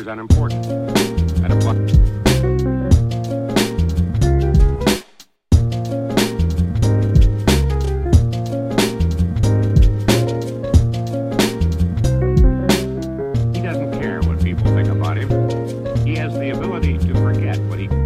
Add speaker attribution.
Speaker 1: unimportant. That applies. He doesn't care what people think about him. He has the ability to forget what he